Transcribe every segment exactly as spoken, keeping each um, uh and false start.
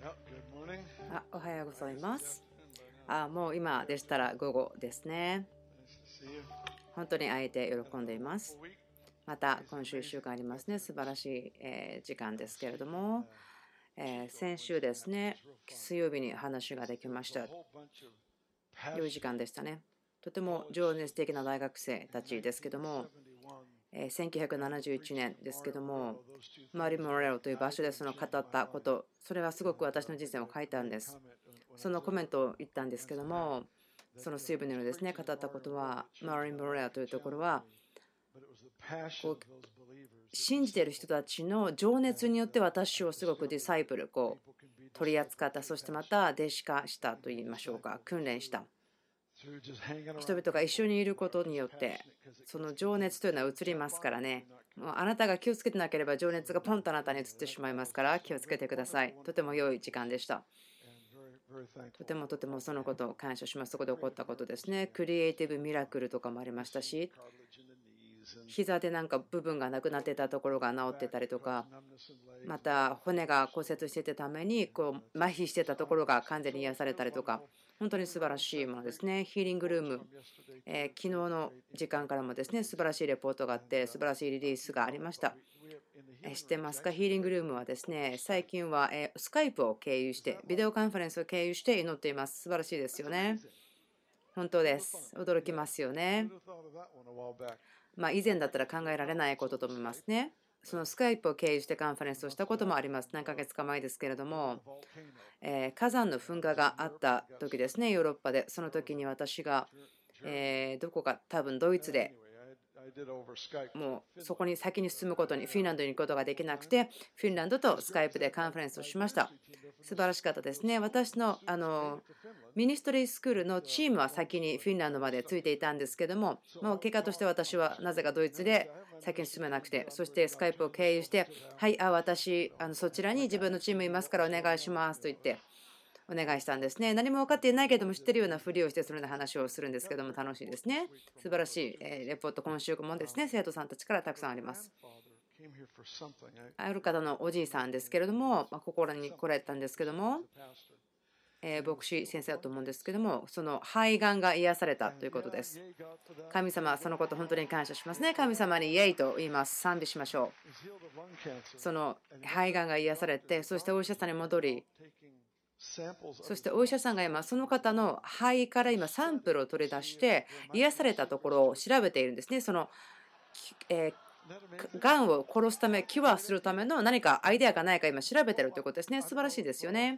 あ、おはようございます。あ、もう今でしたら午後ですね。本当に会えて喜んでいます。また今週いっしゅうかんありますね。素晴らしい、えー時間ですけれども、えー先週ですね、水曜日に話ができました。良い時間でしたね。とても情熱的な大学生たちですけども、えーせんきゅうひゃくななじゅういちねんですけども、マリ・モレロという場所でその語ったこと、それはすごく私の人生を変えたんです。そのコメントを言ったんですけども、その水分のですね、語ったことは、マリ・モレロというところは、こう信じている人たちの情熱によって私をすごくディサイプル、こう取り扱った、そしてまた弟子化したといいましょうか、訓練した。人々が一緒にいることによって、その情熱というのは移りますからね。もうあなたが気をつけてなければ情熱がポンとあなたに移ってしまいますから気をつけてください。とても良い時間でした。とてもとてもそのことを感謝します。そこで起こったことですね。クリエイティブミラクルとかもありましたし、膝でなんか部分がなくなってたところが治ってたりとか、また骨が骨折していたためにこう麻痺してたところが完全に癒されたりとか、本当に素晴らしいものですね。ヒーリングルーム、えー昨日の時間からもですね、素晴らしいレポートがあって、素晴らしいリリースがありました。えー知ってますか？ヒーリングルームはですね、最近はえースカイプを経由して、ビデオカンファレンスを経由して祈っています。素晴らしいですよね。本当です。驚きますよね。まあ、以前だったら考えられないことと思いますね。そのスカイプを経由してカンファレンスをしたこともあります。何ヶ月か前ですけれども、えー火山の噴火があった時ですね、ヨーロッパで。その時に私が、えーどこか多分ドイツでもうそこに先に進むことに、フィンランドに行くことができなくて、フィンランドとスカイプでカンファレンスをしました。素晴らしかったですね。私のあのミニストリースクールのチームは先にフィンランドまでついていたんですけども、もう結果として私はなぜかドイツで先に進めなくて、そしてスカイプを経由して、はい、あ、私、あのそちらに自分のチームいますからお願いしますと言って。お願いしたんですね。何も分かっていないけども知ってるようなふりをしてそのような話をするんですけども楽しいですね。素晴らしいえーレポート、今週もですね、生徒さんたちからたくさんあります。ある方のおじいさんですけれども、まあ、心に来られたんですけども、えー牧師先生だと思うんですけども、その肺がんが癒されたということです。神様、そのこと本当に感謝しますね。神様にイエイと言います。賛美しましょう。その肺がんが癒されて、そしてお医者さんに戻り、そしてお医者さんが今その方の肺から今サンプルを取り出して癒されたところを調べているんですね。その、えーがんを殺すため、キュアするための何かアイデアがないか今調べているということですね。素晴らしいですよね。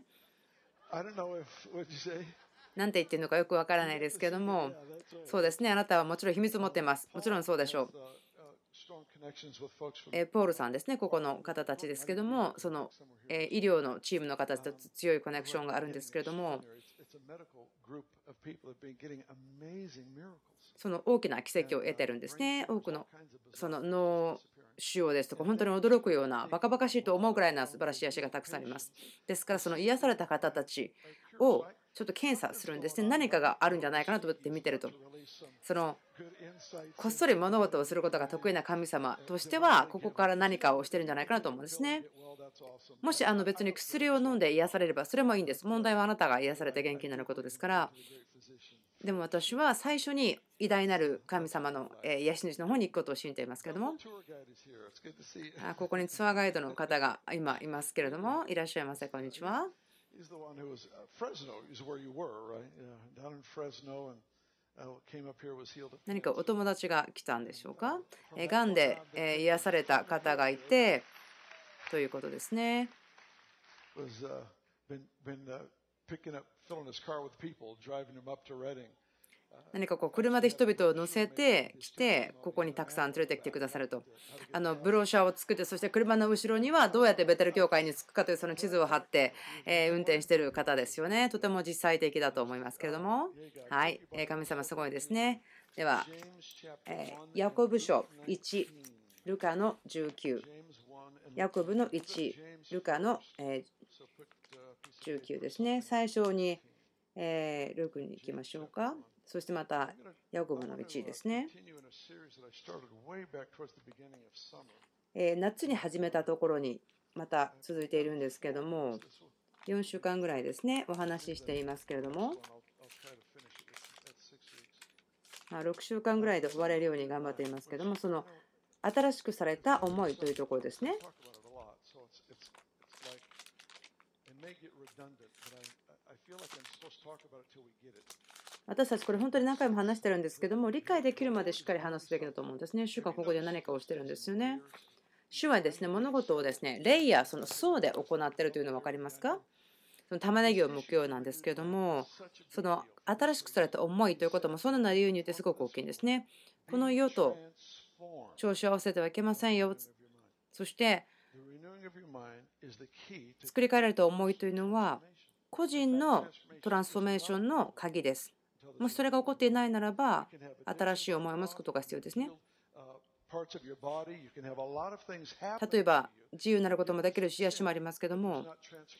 なんて言ってるのかよくわからないですけども、そうですね。あなたはもちろん秘密を持っています。もちろんそうでしょう。えポールさんですね、ここの方たちですけども、そのえ医療のチームの方たちと強いコネクションがあるんですけれども、その大きな奇跡を得てるんですね。多くのその脳腫瘍ですとか、本当に驚くような、バカバカしいと思うくらいな素晴らしい足がたくさんあります。ですから、その癒された方たちをちょっと検査するんですね。何かがあるんじゃないかなと思って見てると、そのこっそり物事をすることが得意な神様としては、ここから何かをしてるんじゃないかなと思うんですね。もしあの別に薬を飲んで癒されればそれもいいんです。問題はあなたが癒されて元気になることですから。でも私は最初に偉大なる神様のえー癒し主の方に行くことを信じていますけれども、あここにツアーガイドの方が今いますけれども、いらっしゃいませ。こんにちは。何かお友達が来たんでしょうか。えがんでえ癒された方がいてということですね。何かこう車で人々を乗せてきて、ここにたくさん連れてきてくださると、あのブローシャーを作って、そして車の後ろにはどうやってベテル教会に着くかというその地図を貼って、え運転している方ですよね。とても実際的だと思いますけれども、はい、え神様すごいですね。では、えヤコブ書いち、ルカのじゅうきゅう、ヤコブのいち、ルカのじゅうきゅうですね。最初にえルクに行きましょうか。そしてまたヤコブのいちですね。え夏に始めたところにまた続いているんですけども、 よんしゅうかんぐらいですね、お話ししていますけれども、まあ、ろくしゅうかんぐらいで終われるように頑張っていますけれども、その新しくされた思いというところですね。私たちこれ本当に何回も話してるんですけども、理解できるまでしっかり話すべきだと思うんですね。主がここで何かをしてるんですよね。主はですね、物事をですね、レイヤー、その層で行っているというのは分かりますか？その玉ねぎを剥くようなんですけれども、その新しくされた思いということもそのような理由によってすごく大きいんですね。この世と調子を合わせてはいけませんよ。そして作り変えられた思いというのは個人のトランスフォーメーションの鍵です。もしそれが起こっていないならば新しい思いを持つことが必要ですね。例えば自由になることもできるし癒しもありますけども、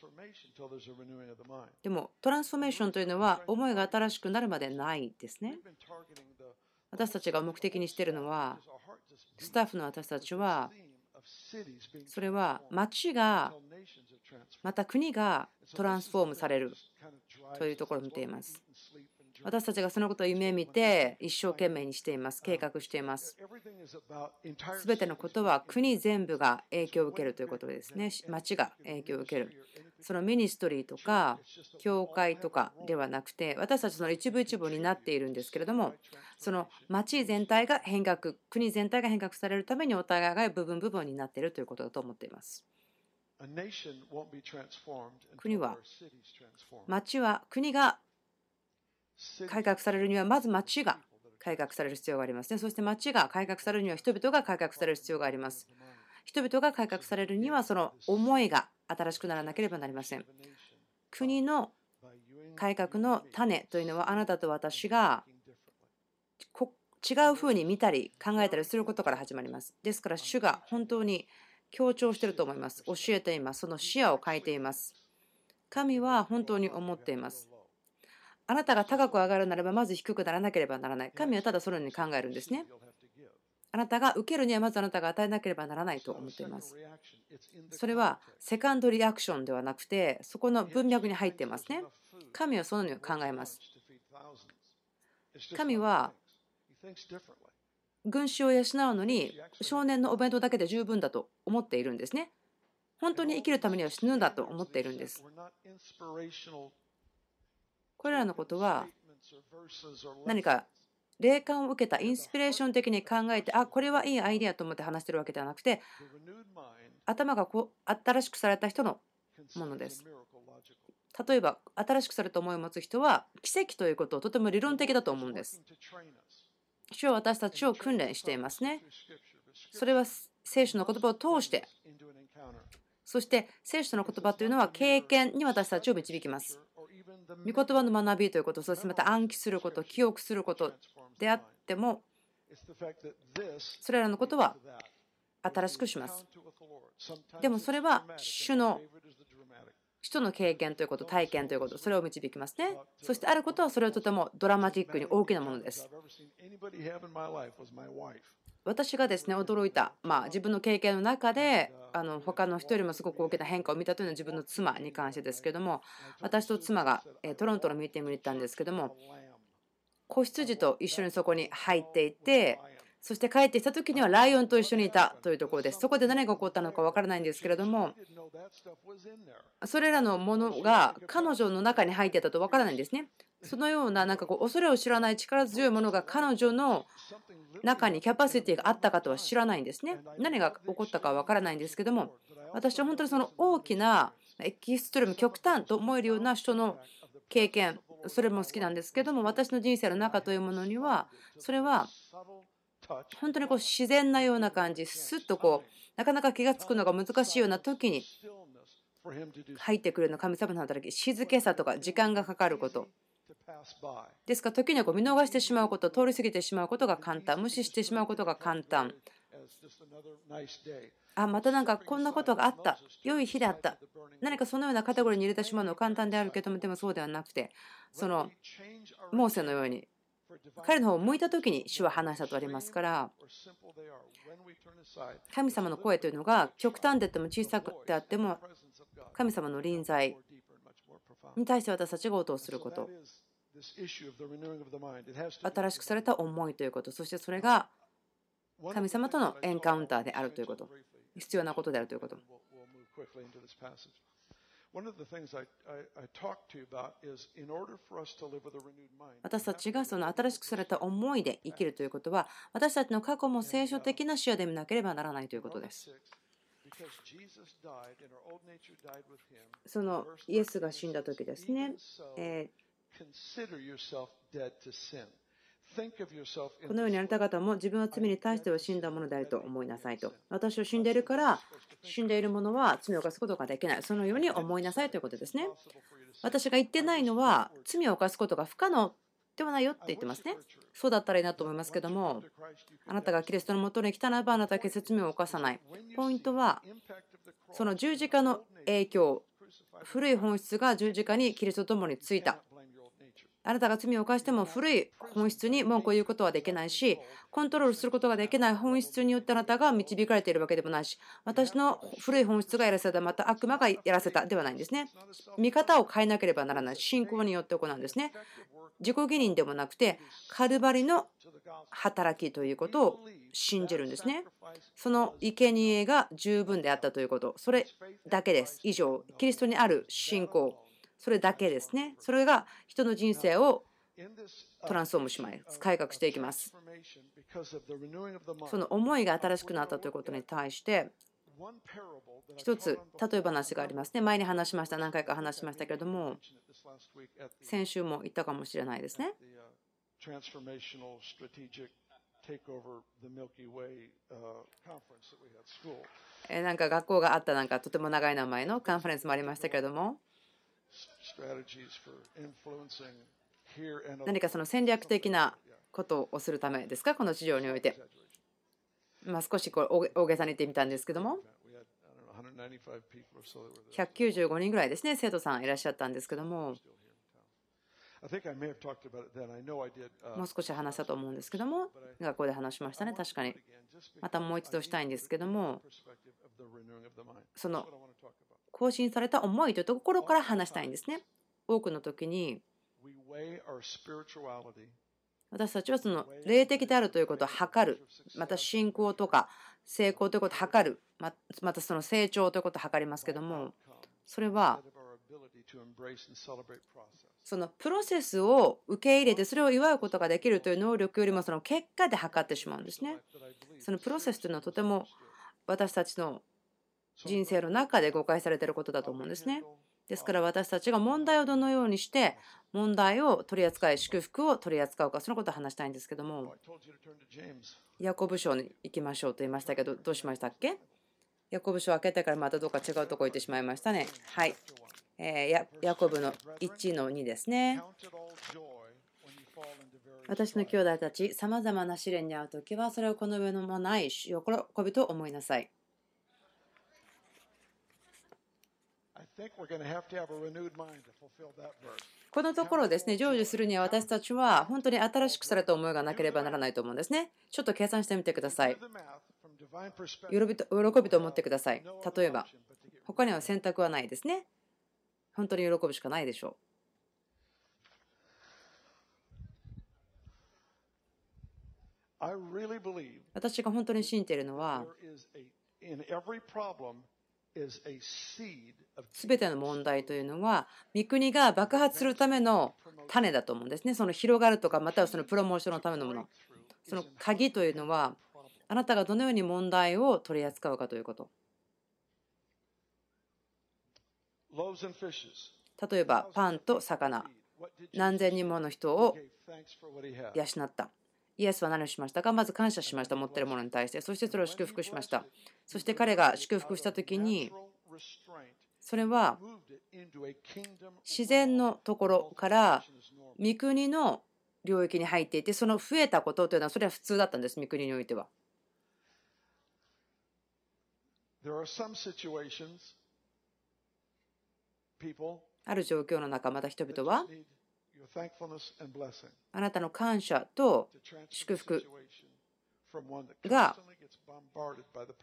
でもトランスフォーメーションというのは思いが新しくなるまでないですね。私たちが目的にしているのは、スタッフの私たちはそれは町がまた国がトランスフォームされるというところを見ています。私たちがそのことを夢見て一生懸命にしています。計画しています。すべてのことは国全部が影響を受けるということですね。町が影響を受ける。そのミニストリーとか教会とかではなくて、私たちの一部一部になっているんですけれども、その町全体が変革、国全体が変革されるためにお互いが部分部分になっているということだと思っています。国は、町は国が改革されるにはまず町が改革される必要がありますね。そして町が改革されるには人々が改革される必要があります。人々が改革されるにはその思いが新しくならなければなりません。国の改革の種というのはあなたと私が違うふうに見たり考えたりすることから始まります。ですから主が本当に強調していると思います。教えています。その視野を変えています。神は本当に思っています。あなたが高く上がるならばまず低くならなければならない。神はただそのように考えるんですね。あなたが受けるにはまずあなたが与えなければならないと思っています。それはセカンドリアクションではなくて、そこの文脈に入っていますね。神はそのように考えます。神は群衆を養うのに少年のお弁当だけで十分だと思っているんですね。本当に生きるためには死ぬんだと思っているんです。これらのことは何か霊感を受けたインスピレーション的に考えて、あ、これはいいアイデアと思って話しているわけではなくて、頭がこう新しくされた人のものです。例えば新しくされた思いを持つ人は奇跡ということをとても理論的だと思うんです。主は私たちを訓練していますね。それは聖書の言葉を通して、そして聖書の言葉というのは経験に私たちを導きます。御言葉の学びということ、そしてまた暗記すること、記憶することであっても、それらのことは新しくします。でもそれは主の人の経験ということ、体験ということ、それを導きますね。そしてあることはそれはとてもドラマティックに大きなものです。私がですね驚いた、まあ、自分の経験の中であの他の人よりもすごく大きな変化を見たというのは自分の妻に関してですけども、私と妻がトロントのミーティングに行ったんですけども、子羊と一緒にそこに入っていて、そして帰ってきた時にはライオンと一緒にいたというところです。そこで何が起こったのか分からないんですけれども、それらのものが彼女の中に入っていたと分からないんですね。そのようななんかこう恐れを知らない力強いものが彼女の中にキャパシティがあったかとは知らないんですね。何が起こったかは分からないんですけども、私は本当にその大きなエキストリーム極端と思えるような人の経験、それも好きなんですけども、私の人生の中というものにはそれは本当にこう自然なような感じ、スッとこうなかなか気が付くのが難しいような時に入ってくるような神様の働き、静けさとか時間がかかることですから、時にはこう見逃してしまうこと、通り過ぎてしまうことが簡単、無視してしまうことが簡単。あ、またなんかこんなことがあった、良い日であった、何かそのようなカテゴリーに入れてしまうのは簡単であるけども、でもそうではなくて、そのモーセのように彼の方を向いた時に主は話したとありますから、神様の声というのが極端であっても小さくてあっても神様の臨在に対して私たちが応答すること、新しくされた思いということ、そしてそれが神様とのエンカウンターであるということ、必要なことであるということ。私たちがその新しくされた思いで生きるということは、私たちの過去も聖書的な視野で見なければならないということです。そのイエスが死んだ時ですね、えーこのようにあなた方も自分は罪に対しては死んだものであると思いなさいと。私は死んでいるから、死んでいる者は罪を犯すことができない。そのように思いなさいということですね。私が言ってないのは、罪を犯すことが不可能ではないよって言ってますね。そうだったらいいなと思いますけども、あなたがキリストのもとに来たならば、あなたは決して罪を犯さない。ポイントは、その十字架の影響、古い本質が十字架にキリストと共についた。あなたが罪を犯しても古い本質に文句を言うことはできないし、コントロールすることができない本質によってあなたが導かれているわけでもないし、私の古い本質がやらせた、また悪魔がやらせたではないんですね。見方を変えなければならない。信仰によって行うんですね。自己義認でもなくて、カルバリの働きということを信じるんですね。その生贄が十分であったということ、それだけです。以上、キリストにある信仰。それだけですね。それが人の人生をトランスフォームします。改革していきます。その思いが新しくなったということに対して、一つ例え話がありますね。前に話しました。何回か話しましたけれども、先週も言ったかもしれないですね。なんか学校があったなんかとても長い名前のカンファレンスもありましたけれども、何かその戦略的なことをするためですか、この地上において。まあ少しこれ大げさに言ってみたんですけども、ひゃくきゅうじゅうごにんぐらいですね、生徒さんいらっしゃったんですけども、もう少し話したと思うんですけども、学校で話しましたね、確かに。またもう一度したいんですけども、その更新された思いというところから話したいんですね。多くの時に私たちはその霊的であるということを測る、また信仰とか成功ということを測る、またその成長ということを測りますけども、それはそのプロセスを受け入れてそれを祝うことができるという能力よりもその結果で測ってしまうんですね。そのプロセスというのはとても私たちの人生の中で誤解されていることだと思うんですね。ですから私たちが問題をどのようにして問題を取り扱い、祝福を取り扱うか、そのことを話したいんですけども、ヤコブ書に行きましょうと言いましたけど、どうしましたっけ？ヤコブ書を開けてからまたどうか違うところ行ってしまいましたね。はい。えー、ヤコブのいちのにですね。私の兄弟たち、さまざまな試練に遭うときは、それをこの上のもない喜びと思いなさい。このところですね、成就するには私たちは本当に新しくされた思いがなければならないと思うんですね。ちょっと計算してみてください。喜びと喜びと思ってください。例えば、他には選択はないですね。本当に喜ぶしかないでしょう。私が本当に信じているのは、すべての問題というのは、御国が爆発するための種だと思うんですね。その広がるとか、またはそのプロモーションのためのもの。その鍵というのは、あなたがどのように問題を取り扱うかということ。例えば、パンと魚。何千人もの人を養った。イエスは何をしましたか？まず感謝しました。持っているものに対して。そしてそれを祝福しました。そして彼が祝福したときに、それは自然のところから御国の領域に入っていて、その増えたことというのはそれは普通だったんです、御国においては。ある状況の中、また人々はあなたの感謝と祝福が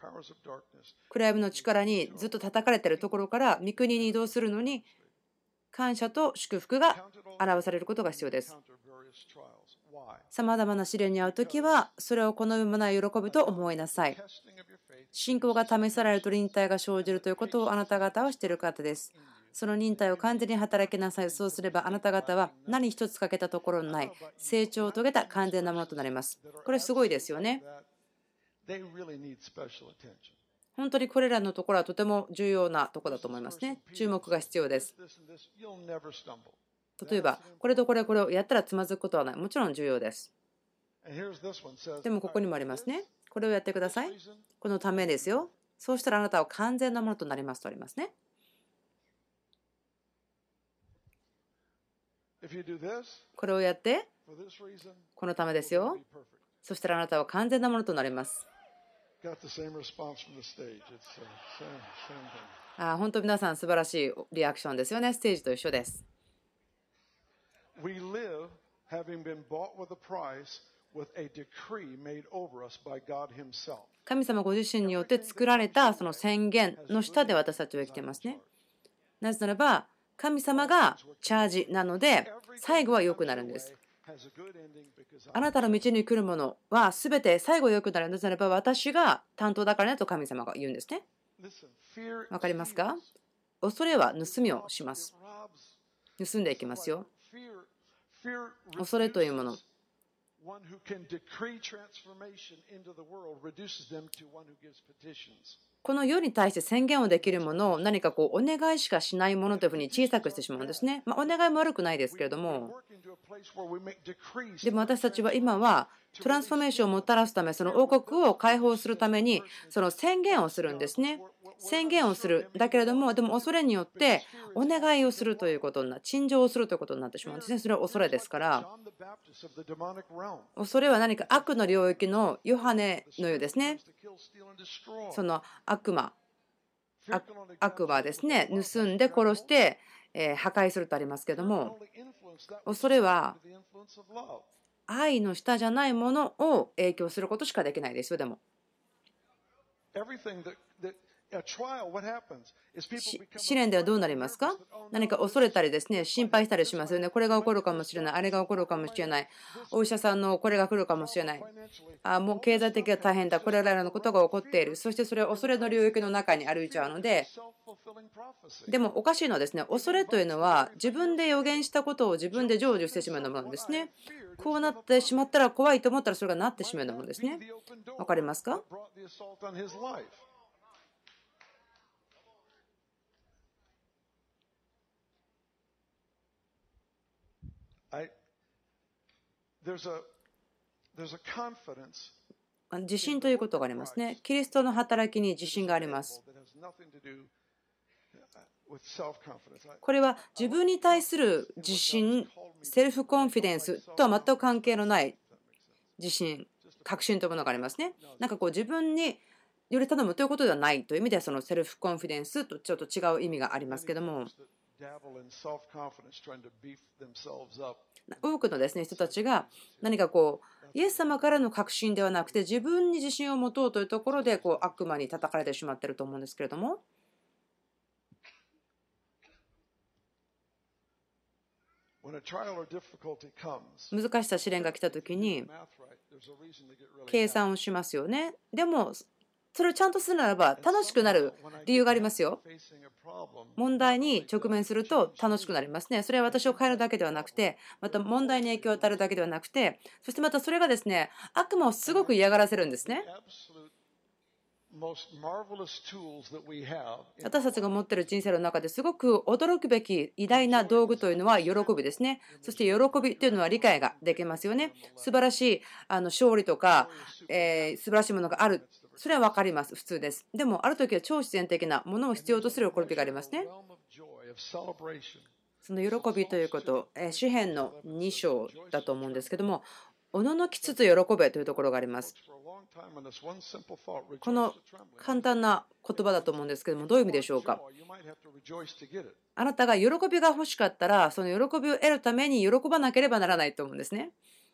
暗闇の力にずっと叩かれているところから御国に移動するのに感謝と祝福が表されることが必要です。さまざまな試練に遭うときは、それをこのような喜びと思いなさい。信仰が試されると忍耐が生じるということをあなた方は知っている方です。その忍耐を完全に働きなさい。そうすればあなた方は何一つ欠けたところのない成長を遂げた完全なものとなります。これすごいですよね。本当にこれらのところはとても重要なところだと思いますね。注目が必要です。例えば、これとこれこれをやったらつまずくことはない。もちろん重要です。でもここにもありますね。これをやってください。このためですよ。そうしたらあなたは完全なものとなりますとありますね。これをやって、このためですよ。そしたらあなたは完全なものとなります。あ、本当皆さん素晴らしいリアクションですよね。ステージと一緒です。神様ご自身によって作られたその宣言の下で私たちは生きていますね。なぜならば神様がチャージなので最後は良くなるんです。あなたの道に来るものは全て最後良くなる。なぜならば私が担当だからねと神様が言うんですね。わかりますか？恐れは盗みをします。盗んでいきますよ。恐れというもの。この世に対して宣言をできるものを何かこうお願いしかしないものというふうに小さくしてしまうんですね。まあ、お願いも悪くないですけれども、でも私たちは今はトランスフォーメーションをもたらすため、その王国を解放するためにその宣言をするんですね。宣言をするだけれども、でも恐れによってお願いをするということにな、陳情をするということになってしまうんですね。それは恐れですから。恐れは何か悪の領域のヨハネのようですね。その悪魔、悪魔ですね。盗んで殺して破壊するとありますけども、恐れは愛の下じゃないものを影響することしかできないですよ。でも試練ではどうなりますか？何か恐れたりですね、心配したりしますよね。これが起こるかもしれない、あれが起こるかもしれない、お医者さんのこれが来るかもしれない、あもう経済的が大変だ、これらのことが起こっている、そしてそれは恐れの領域の中に歩いちゃうので、でもおかしいのはですね、恐れというのは自分で予言したことを自分で成就してしまうようなものですね。こうなってしまったら怖いと思ったらそれがなってしまうようなものですね。わかりますか？自信ということがありますね。キリストの働きに自信があります。これは自分に対する自信、セルフコンフィデンスとは全く関係のない自信、確信というものがありますね。なんかこう自分により頼むということではないという意味では、そのセルフコンフィデンスとちょっと違う意味がありますけども、多くのですね人たちが何かこうイエス様からの確信ではなくて自分に自信を持とうというところでこう悪魔に叩かれてしまっていると思うんですけれども、難しさ試練が来た時に計算をしますよね。でもそれをちゃんとするならば楽しくなる理由がありますよ。問題に直面すると楽しくなりますね。それは私を変えるだけではなくて、また問題に影響を与えるだけではなくて、そしてまたそれがですね、悪魔をすごく嫌がらせるんですね。私たちが持っている人生の中ですごく驚くべき偉大な道具というのは喜びですね。そして喜びというのは理解ができますよね。素晴らしいあの勝利とか、えー、素晴らしいものがある。それは分かります。普通です。でもある時は超自然的なものを必要とする喜びがありますね。その喜びということ、詩編のに章だと思うんですけども、おののきつつ喜べというところがあります。この簡単な言葉だと思うんですけども、どういう意味でしょうか。あなたが喜びが欲しかったら、その喜びを得るために喜ばなければならないと思うんですね。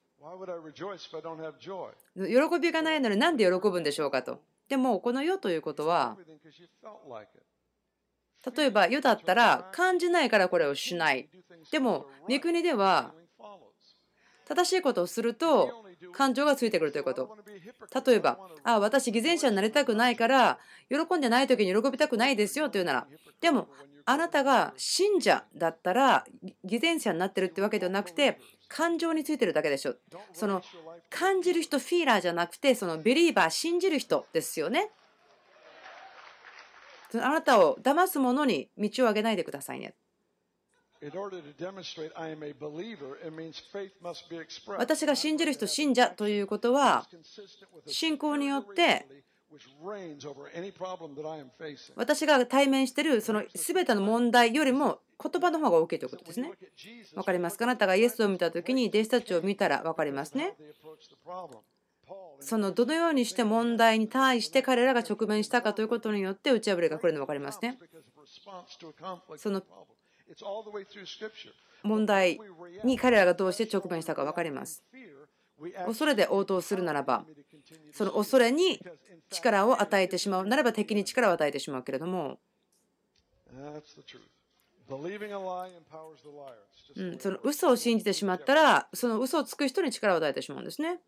喜びがないのになんで喜ぶんでしょうかと。でもこの世ということは例えば世だったら感じないからこれをしない。でも御国では正しいことをすると感情がついてくるということ。例えば、あ、私偽善者になりたくないから喜んでない時に喜びたくないですよというなら、でもあなたが信者だったら偽善者になってるってわけではなくて、感情についてるだけでしょ。その感じる人、フィーラーじゃなくて、そのビリーバー、信じる人ですよね。あなたを騙す者に道をあげないでくださいね。私が信じる人、信者ということは、信仰によって私が対面しているその全ての問題よりも言葉の方が大きいということですね。わかりますか？あなたがイエスを見たときに弟子たちを見たらわかりますね。そのどのようにして問題に対して彼らが直面したかということによって打ち破りが来るのがわかりますね。その問題に彼らがどうして直面したか分かります。恐れで応答するならば、その恐れに力を与えてしまうならば敵に力を与えてしまうけれども、うん、その嘘を信じてしまったら、その嘘をつく人に力を与えてしまうんですね。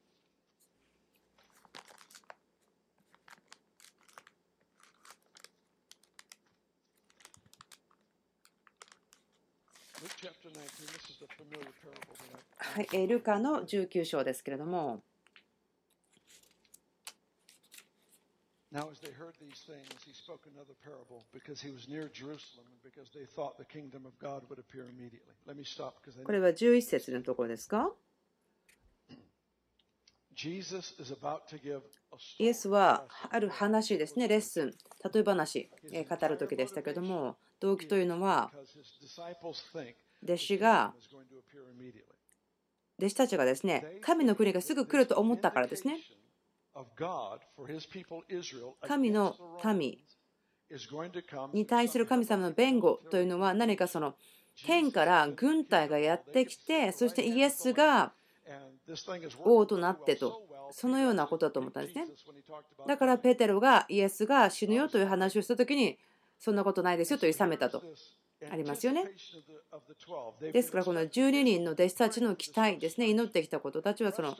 はい、ルカのじゅうきゅう章ですけれども、これはじゅういっ節のところですか？イエスはある話ですね、レッスン、例え話、語る時でしたけれども、動機というのは、弟子が、弟子たちがですね、神の国がすぐ来ると思ったからですね。神の民に対する神様の弁護というのは何かその天から軍隊がやってきて、そしてイエスが王となってと、そのようなことだと思ったんですね。だからペテロがイエスが死ぬよという話をしたときに、そんなことないですよと諌めたとありますよね。ですからこのじゅうににんの弟子たちの期待ですね、祈ってきたことたちはその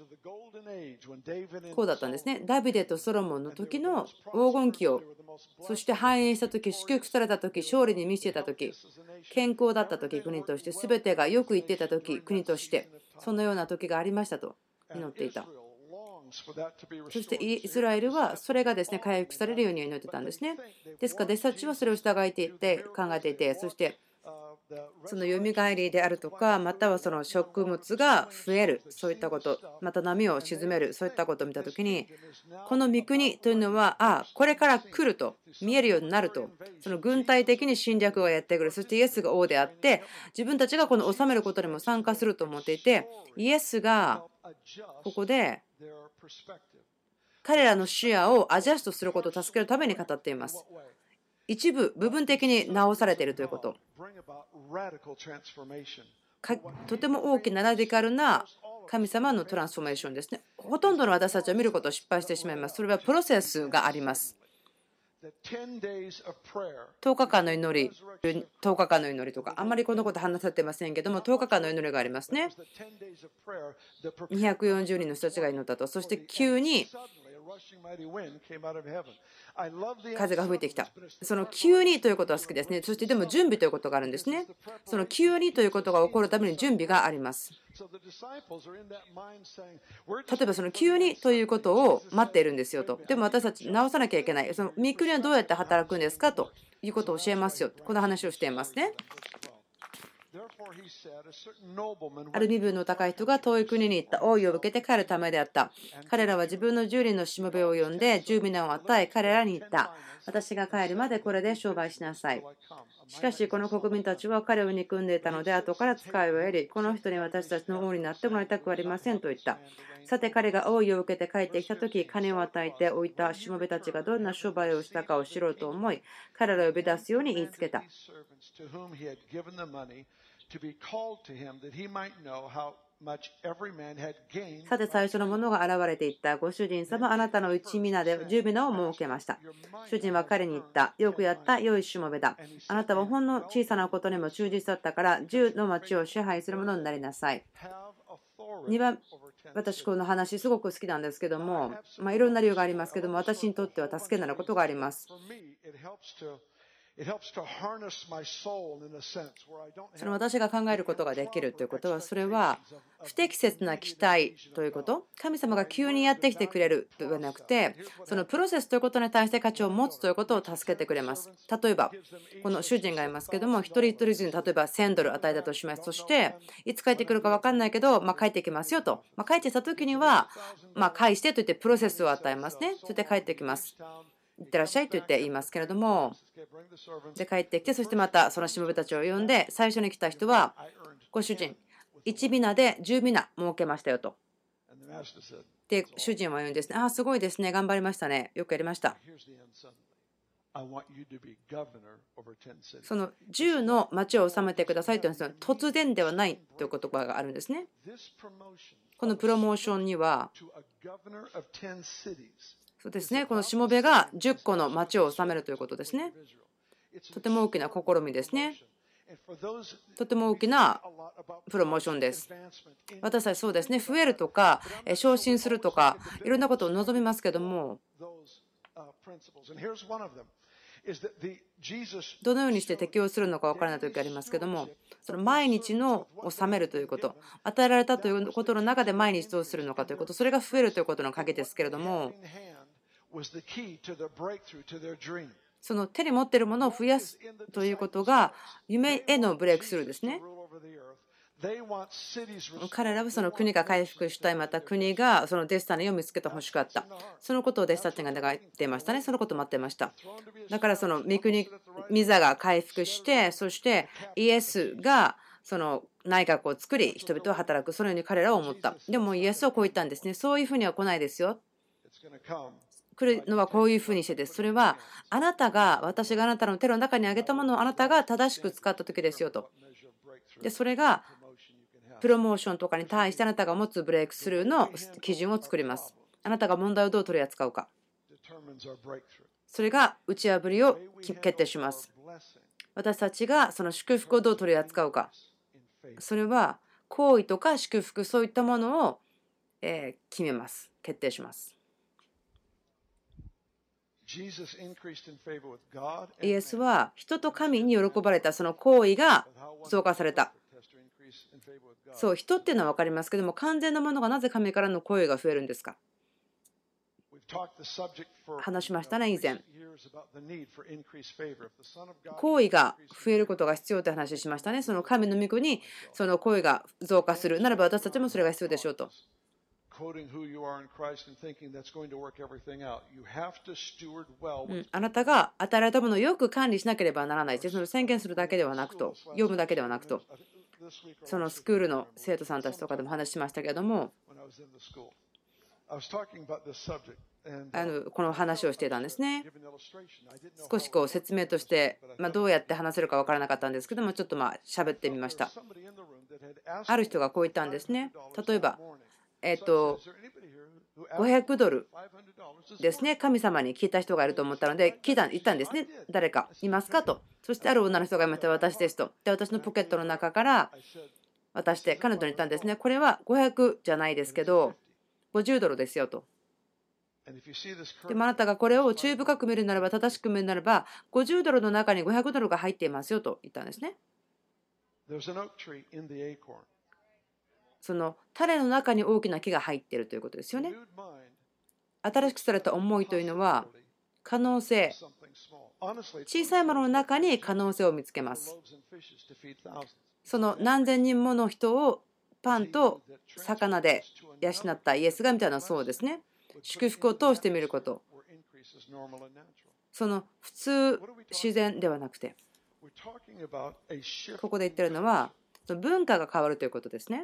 こうだったんですね。ダビデとソロモンの時の黄金期を、そして繁栄した時、祝福された時、勝利に満ちていた時、健康だった時、国として全てがよくいっていた時、国としてそのような時がありましたと祈っていた。そしてイスラエルはそれがですね回復されるように祈ってたんですね。ですから弟子たちはそれを従えていて考えていて、そしてそのよみがえりであるとか、またはその食物が増える、そういったこと、また波を鎮める、そういったことを見たときに、この御国というのは、ああ、これから来ると見えるようになると、その軍隊的に侵略がやってくる、そしてイエスが王であって、自分たちがこの治めることにも参加すると思っていて、イエスがここで彼らの視野をアジャストすることを助けるために語っています。一部部分的に直されているということ、とても大きなラディカルな神様のトランスフォーメーションですね。ほとんどの私たちは見ることを失敗してしまいます。それはプロセスがあります。とおかかんの祈り、とおかかんの祈りとか、あんまりこのこと話されてませんけども、とおかかんの祈りがありますね。にひゃくよんじゅうにんの人たちが祈ったと。そして急に風が吹いてきた。その急にということは好きですね。そしてでも準備ということがあるんですね。その急にということが起こるために準備があります。例えばその急にということを待っているんですよと。でも私たち直さなきゃいけない。その御国はどうやって働くんですかということを教えますよ。この話をしていますね。ある身分の高い人が遠い国に行った。王位を受けて帰るためであった。彼らは自分のじゅうにんのしもべを呼んでじゅうみなを与え彼らに言った。私が帰るまでこれで商売しなさい。しかしこの国民たちは彼を憎んでいたので後から使いを得り、この人に私たちの王になってもらいたくありませんと言った。さて彼が王位を受けて帰ってきたとき、金を与えておいたしもべたちがどんな商売をしたかを知ろうと思い、彼らを呼び出すように言いつけた。 さて最初のものが現れていった。ご主人様、あなたの一皆で十皆を設けました。主人は彼に言った。よくやった、良いしもべだ。あなたはほんの小さなことにも忠実だったから、十の町を支配するものになりなさい。にばん、私この話すごく好きなんですけども、まあ、いろんな理由がありますけども、私にとっては助けになることがあります。その私が考えることができるということは、それは不適切な期待ということ、神様が急にやってきてくれるではなくて、そのプロセスということに対して価値を持つということを助けてくれます。例えば、この主人がいますけども、一人一人に例えばせんドル与えたとします。そして、いつ帰ってくるか分かんないけど、まあ、帰ってきますよと。まあ、帰ってきた時には、まあ、返してと言ってプロセスを与えますね。そして帰ってきます。いってらっしゃいと言って言いますけれども、で帰ってきて、そしてまたそのしもべたちを呼んで、最初に来た人は、ご主人、いち皆でじゅう皆設けましたよと。で、主人は言うんですね。ああ、すごいですね。頑張りましたね。よくやりました。そのじゅうの町を治めてくださいというのは突然ではないという言葉があるんですね。このプロモーションには、そうですね、このしもべがじゅっこの町を治めるということですね。とても大きな試みですね。とても大きなプロモーションです。私たちそうですね、増えるとか、昇進するとか、いろんなことを望みますけども、どのようにして適用するのか分からない時がありますけども、その毎日の治めるということ、与えられたということの中で毎日どうするのかということ、それが増えるということの鍵ですけれども、その手に持っているものを増やすということが夢へのブレイクスルーですね。彼らはその国が回復したい、また国がそのデスタニーを見つけてほしかった。そのことを弟子たちが願っていましたね。そのことを待っていました。だからその御国、御座が回復して、そしてイエスがその内閣を作り、人々は働く。そのように彼らは思った。でもイエスはこう言ったんですね。そういうふうには来ないですよ。来るのはこういうふうにしてです。それはあなたが、私があなたの手の中にあげたものをあなたが正しく使った時ですよと。で、それがプロモーションとかに対してあなたが持つブレイクスルーの基準を作ります。あなたが問題をどう取り扱うか。それが打ち破りを決定します。私たちがその祝福をどう取り扱うか。それは行為とか祝福、そういったものを決めます。決定します。イエスは人と神に喜ばれたその行為が増加された。そう、人っていうのは分かりますけども、完全なものがなぜ神からの行為が増えるんですか。話しましたね、以前。行為が増えることが必要という話をしましたね。その神の御国にその行為が増加するならば私たちもそれが必要でしょうと。うん、あなたが与えられたものをよく管理しなければならない。その宣言するだけではなくと、読むだけではなくと、そのスクールの生徒さんたちとかでも話しましたけれども、あのこの話をしていたんですね。少しこう説明として、まあ、どうやって話せるか分からなかったんですけども、ちょっとまあ喋ってみました。ある人がこう言ったんですね。例えばえっとごひゃくドルですね、神様に聞いた人がいると思ったので、聞いた言ったんですね。誰かいますかと。そしてある女の人がいました。私ですと。で、私のポケットの中から渡して彼女に言ったんですね。これはごひゃくじゃないですけどごじゅうドルですよと。でもあなたがこれを注意深く見るならば、正しく見るならば、ごじゅうドルの中にごひゃくドルが入っていますよと言ったんですね。その種の中に大きな木が入っているということですよね。新しくされた思いというのは可能性、小さいものの中に可能性を見つけます。その何千人もの人をパンと魚で養ったイエスがみたいな、そうですね。祝福を通してみること。その普通自然ではなくて、ここで言ってるのは文化が変わるということですね。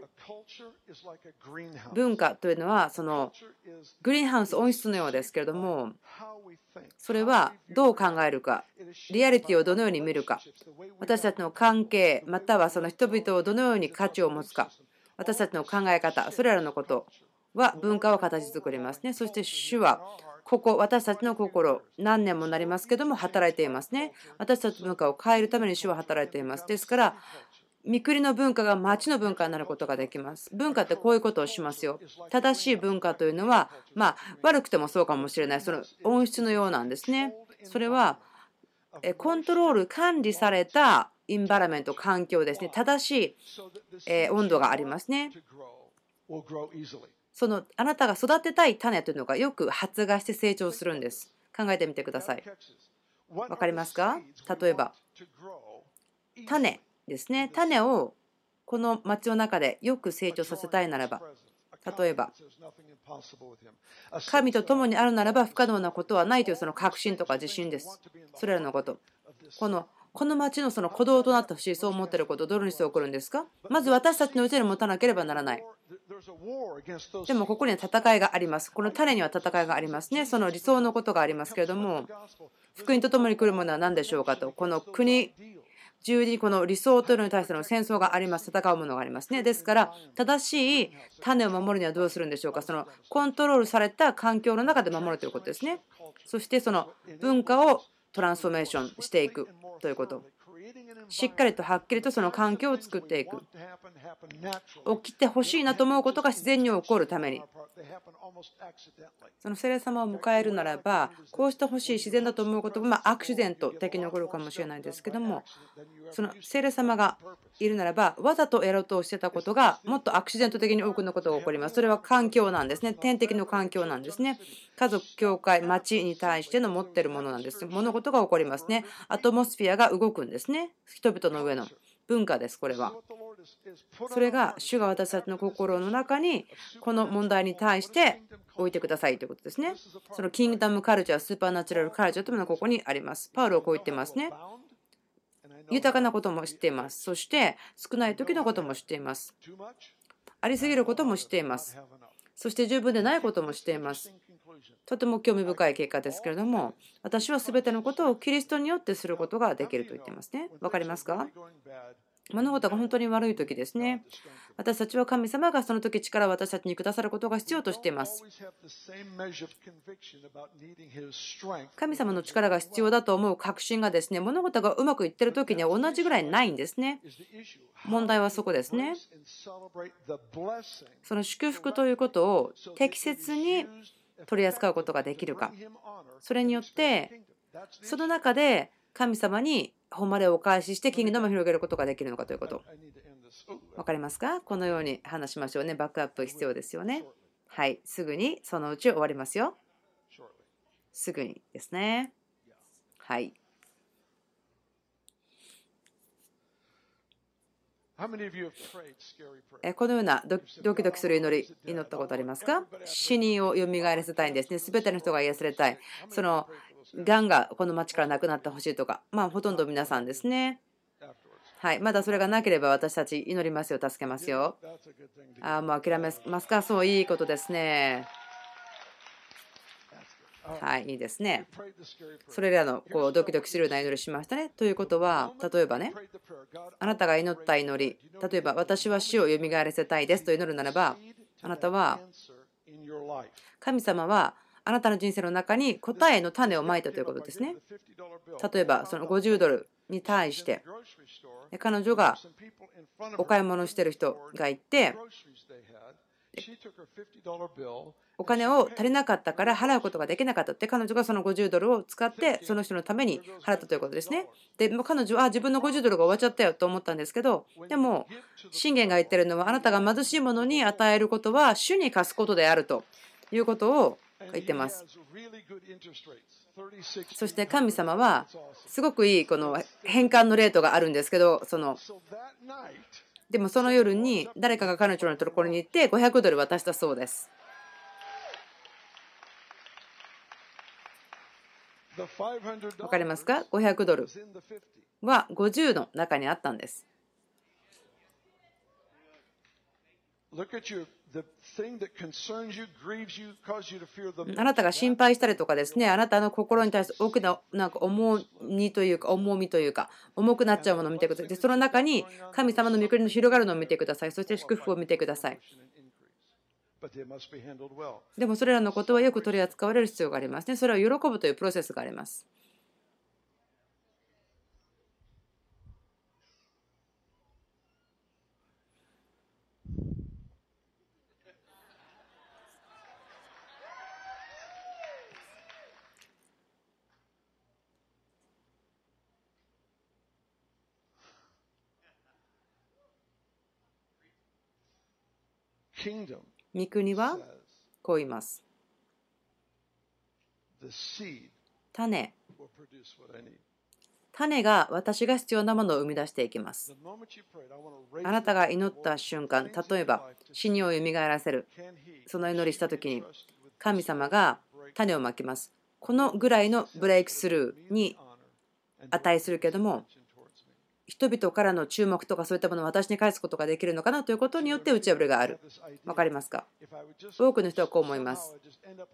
文化というのはそのグリーンハウス温室のようですけれども、それはどう考えるか、リアリティをどのように見るか、私たちの関係またはその人々をどのように価値を持つか、 私たちの考え方、それらのことは文化を形作りますね。そして主はここ、私たちの心、何年もなりますけども働いていますね。私たちの文化を変えるために主は働いています。ですから御国の文化が町の文化になることができます。文化ってこういうことをしますよ。正しい文化というのは、まあ、悪くてもそうかもしれない。その温室のようなんですね。それはコントロール、管理されたインバラメント、環境ですね。正しい温度がありますね。そのあなたが育てたい種というのがよく発芽して成長するんです。考えてみてください。わかりますか？例えば、種ですね。種をこの町の中でよく成長させたいならば、例えば、神と共にあるならば不可能なことはないというその確信とか自信です。それらのこと。このこの町のその鼓動となってほしい、そう思っていること、どのにして起こるんですか？まず私たちのうちに持たなければならない。でもここには戦いがあります。この種には戦いがありますね。その理想のことがありますけれども、福音と共に来るものは何でしょうかと、この国中にこの理想というのに対しての戦争があります。戦うものがありますね。ですから正しい種を守るにはどうするんでしょうか。そのコントロールされた環境の中で守るということですね。そしてその文化をトランスフォーメーションしていくということ。しっかりとはっきりとその環境を作っていく。起きてほしいなと思うことが自然に起こるために、その聖霊様を迎えるならば、こうしてほしい自然だと思うことがまあアクシデント的に起こるかもしれないですけども、その聖霊様がいるならば、わざとやろうとしてたことがもっとアクシデント的に多くのことが起こります。それは環境なんですね。天敵の環境なんですね。家族、教会、町に対しての持っているものなんです。物事が起こりますね。アトモスフィアが動くんですね。人々の上の文化です、これは。それが主が私たちの心の中にこの問題に対して置いてくださいということですね。そのキングダムカルチャー、スーパーナチュラルカルチャーというのはここにあります。パウロはこう言ってますね。豊かなことも知っています。そして少ない時のことも知っています。ありすぎることも知っています。そして十分でないことも知っています。とても興味深い結果ですけれども、私は全てのことをキリストによってすることができると言っていますね。わかりますか？物事が本当に悪い時ですね。私たちは神様がその時力を私たちにくださることが必要としています。神様の力が必要だと思う確信がですね、物事がうまくいっている時には同じぐらいないんですね。問題はそこですね。その祝福ということを適切に取り扱うことができるか。それによってその中で神様に誉れをお返ししてキングダムを広げることができるのかということ。わかりますか？このように話しましょうね。バックアップ必要ですよね。はい、すぐにそのうち終わりますよ。すぐにですね。はい。このようなドキドキする祈り、祈ったことありますか？死人をよみがえらせたいんですね。すべての人が癒されたい。そのがんがこの町からなくなってほしいとか、まあほとんど皆さんですね。はい、まだそれがなければ私たち祈りますよ、助けますよ。ああ、もう諦めますか？そう、いいことですね。はい、いいですね。それらのこうドキドキするような祈りしましたね。ということは、例えばね、あなたが祈った祈り、例えば私は死をよみがえらせたいですと祈るならば、あなたは神様はあなたの人生の中に答えの種をまいたということですね。例えばそのごじゅうドルに対して彼女がお買い物してる人がいて、お金を足りなかったから払うことができなかったって、彼女がそのごじゅうドルを使ってその人のために払ったということですね。で彼女は自分のごじゅうドルが終わっちゃったよと思ったんですけど、でも信玄が言ってるのは、あなたが貧しい者に与えることは主に貸すことであるということを言ってます。そして神様はすごくいいこの返還のレートがあるんですけど、そのでもその夜に誰かが彼女のところに行ってごひゃくドル渡したそうです。わかりますか？ごひゃくドルはごじゅうの中にあったんです。 あなたが心配したりとかですね、あなたの心に対して大きななんか重荷というか重みというか重くなっちゃうものを見てください。でその中に神様の御国の広がるのを見てください。そして祝福を見てください。でもそれらのことはよく取り扱われる必要がありますね。それを喜ぶというプロセスがあります。御国はこう言います。種。種が私が必要なものを生み出していきます。あなたが祈った瞬間、例えば死にをよみがえらせる、その祈りしたときに神様が種をまきます。このぐらいのブレイクスルーに値するけども、人々からの注目とかそういったものを私に返すことができるのかなということによって打ち破りがある。わかりますか？多くの人はこう思います。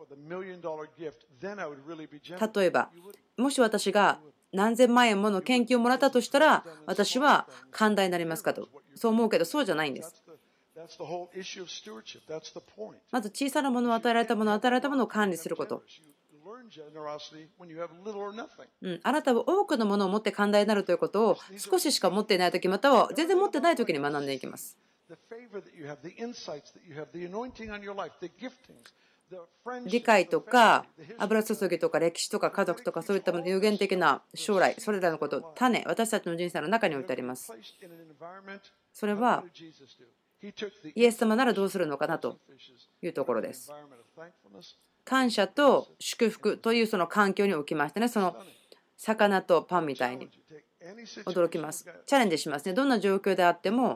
例えば、もし私が何千万円もの献金をもらったとしたら、私は寛大になりますかと。そう思うけど、そうじゃないんです。まず小さなものを与えられたものを与えられたものを管理すること。うん、あなたは多くのものを持って寛大になるということを少ししか持っていないとき、または全然持ってないときに学んでいきます。理解とか油注ぎとか歴史とか家族とかそういった有限的な将来、それらのこと、種、私たちの人生の中に置いてあります。それはイエス様ならどうするのかなというところです。感謝と祝福というその環境に置きましてね、その魚とパンみたいに驚きます。チャレンジしますね。どんな状況であっても、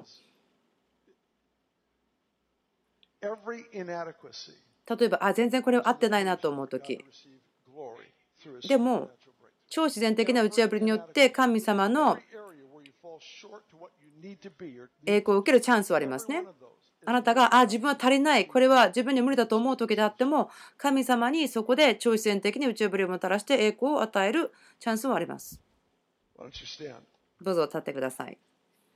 例えばあ全然これ合ってないなと思うときでも、超自然的な打ち破りによって神様の栄光を受けるチャンスはありますね。あなたがあ自分は足りない、これは自分に無理だと思う時であっても、神様にそこで超自然的に打ち破りをもたらして栄光を与えるチャンスはあります。どうぞ立ってください。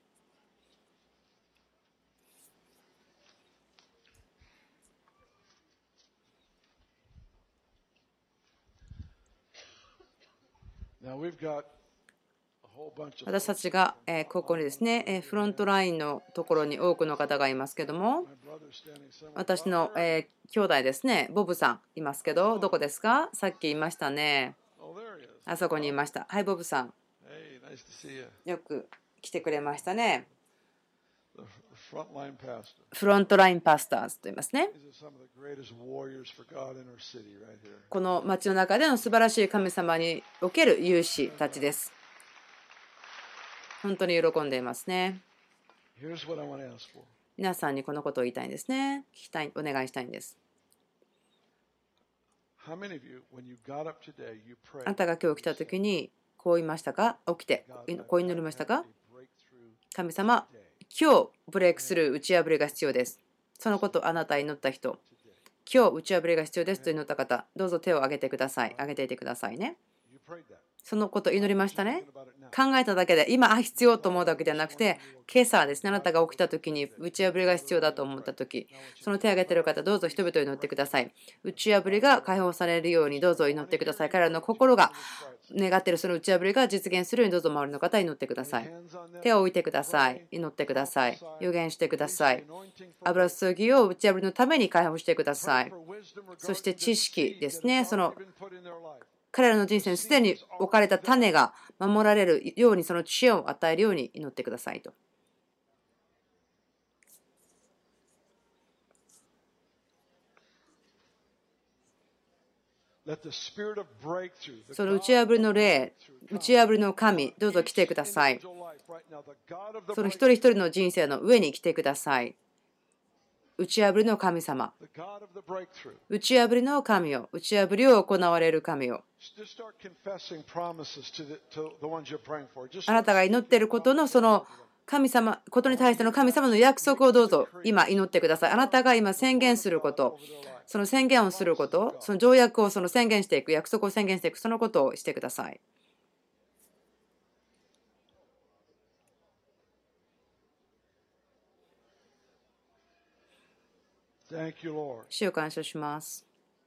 私たちがここにですね、フロントラインのところに多くの方がいますけども、私の兄弟ですね、ボブさんいますけど、どこですか？さっきいましたね。あそこにいました。はい、ボブさん。よく来てくれましたね。フロントラインパスターズと言いますね。この町の中での素晴らしい神様における勇士たちです。本当に喜んでいますね。皆さんにこのことを言いたいんですね。聞きたい、お願いしたいんです。あなたが今日来たときにこう言いましたか？起きてこう祈りましたか？神様、今日ブレイクスルー打ち破りが必要です。そのことあなた祈った人、今日打ち破りが必要ですと祈った方、どうぞ手を挙げてください。挙げていてくださいね。そのこと祈りましたね。考えただけで今あ必要と思うだけではなくて、今朝ですね、あなたが起きた時に打ち破りが必要だと思った時、その手を挙げている方、どうぞ人々を祈ってください。打ち破りが解放されるようにどうぞ祈ってください。彼らの心が願っているその打ち破りが実現するようにどうぞ周りの方祈ってください。手を置いてください。祈ってください。予言してください。油注ぎを打ち破りのために解放してください。そして知識ですね、その彼らの人生にすでに置かれた種が守られるように、その知恵を与えるように祈ってくださいと。その打ち破りの霊、打ち破りの神、どうぞ来てください。その一人一人の人生の上に来てください。打ち破りの神様、打ち破りの神よ、打ち破りを行われる神よ。あなたが祈っていることのその神様、ことに対しての神様の約束をどうぞ今祈ってください。あなたが今宣言すること、その宣言をすること、その条約をその宣言していく、約束を宣言していく、そのことをしてください。主を感謝します。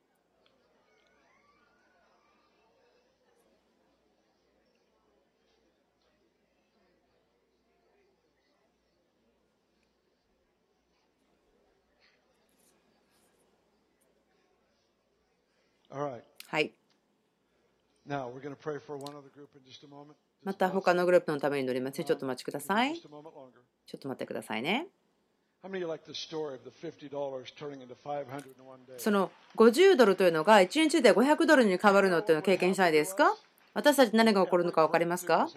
はい。また他のグループのために祈ります。ちょっとお待ちください。ちょっと待ってくださいね。そのごじゅうドルというのがいちにちでごひゃくドルに変わるのっていうのを経験したいですか？私たち何が起こるのか分かりますか？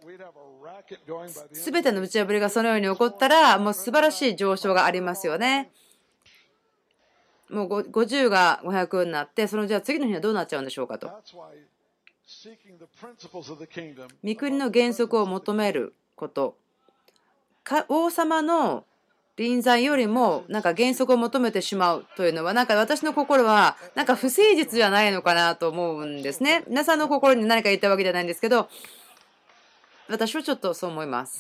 すべての打ち破りがそのように起こったら、もう素晴らしい上昇がありますよね。もうごじゅうがごひゃくになって、そのじゃあ次の日はどうなっちゃうんでしょうかと。御国の原則を求めること。王様の臨在よりもなんか原則を求めてしまうというのは、なんか私の心はなんか不誠実じゃないのかなと思うんですね。皆さんの心に何か言ったわけじゃないんですけど、私はちょっとそう思います。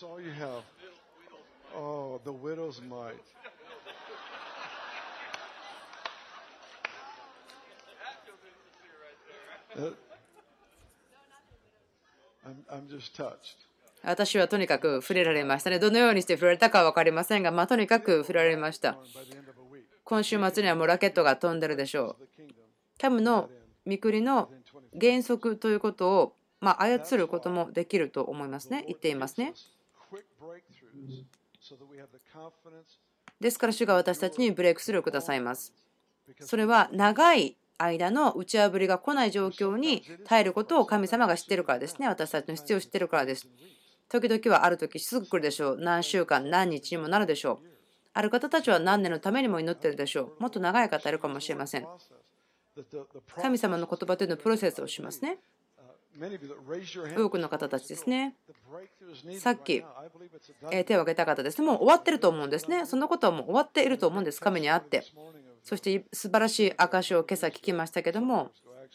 私はとにかく触れられましたね。どのようにして触れられたかは分かりませんが、まあ、とにかく触れられました。今週末にはもうラケットが飛んでるでしょう。神の御国の原則ということを、まあ、操ることもできると思いますね。言っていますね。ですから主が私たちにブレイクスルーをくださいます。それは長い間の打ち破りが来ない状況に耐えることを神様が知っているからですね。私たちの必要を知っているからです。時々はある時すぐ来るでしょう。何週間、何日にもなるでしょう。ある方たちは何年のためにも祈っているでしょう。もっと長い方いるかもしれません。神様の言葉というのはプロセスをしますね。多くの方たちですね。さっき手を挙げた方ですね。もう終わってると思うんですね。そのことはもう終わっていると思うんです。神にあって。そして素晴らしい証を今朝聞きましたけども、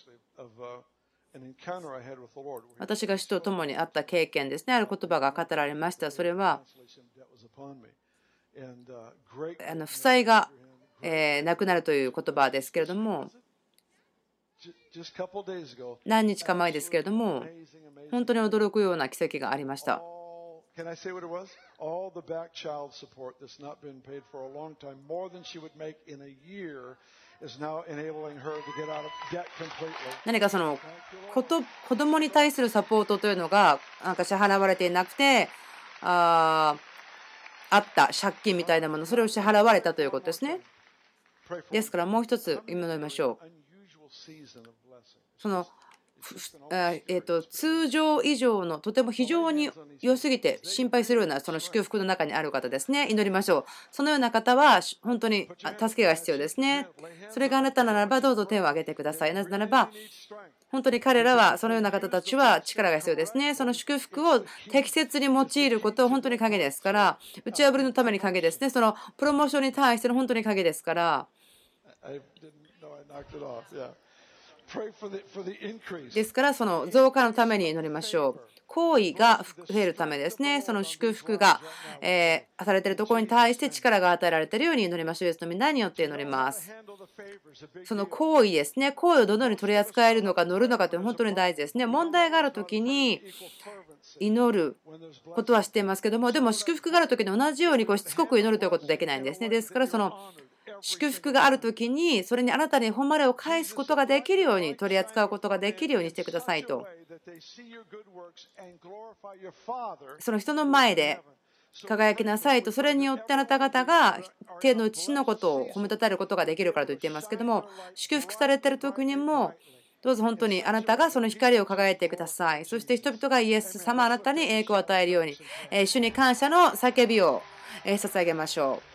私が主と共にあった経験ですね。ある言葉が語られました。それはあの負債がえなくなるという言葉ですけれども、何日か前ですけれども、本当に驚くような奇跡がありました。何かその子供に対するサポートというのがなんか支払われていなくて、ああった借金みたいなもの、それを支払われたということですね。ですからもう一つ祈りましょう。そのえー、と通常以上のとても非常に良すぎて心配するようなその祝福の中にある方ですね。祈りましょう。そのような方は本当に助けが必要ですね。それがあなたならばどうぞ手を挙げてください。なぜならば本当に彼らはそのような方たちは力が必要ですね。その祝福を適切に用いることは本当に鍵ですから、打ち破りのために鍵ですね。そのプロモーションに対しての本当に鍵ですから。ですからその増加のために祈りましょう。行為が増えるためですね。その祝福が、えー、されているところに対して力が与えられているように祈りましょう。イエスの皆によって祈ります。その行為ですね。行為をどのように取り扱えるのか乗るのかというのは本当に大事ですね。問題があるときに祈ることはしていますけども、でも祝福があるときに同じようにこうしつこく祈るということはできないんですね。ですからその祝福があるときにそれにあなたに誉れを返すことができるように取り扱うことができるようにしてくださいと。その人の前で輝きなさいと。それによってあなた方が天の父のことを褒めたたえることができるからと言っていますけども、祝福されている時にもどうぞ本当にあなたがその光を輝いてください。そして人々がイエス様あなたに栄光を与えるように主に感謝の叫びを捧げましょう。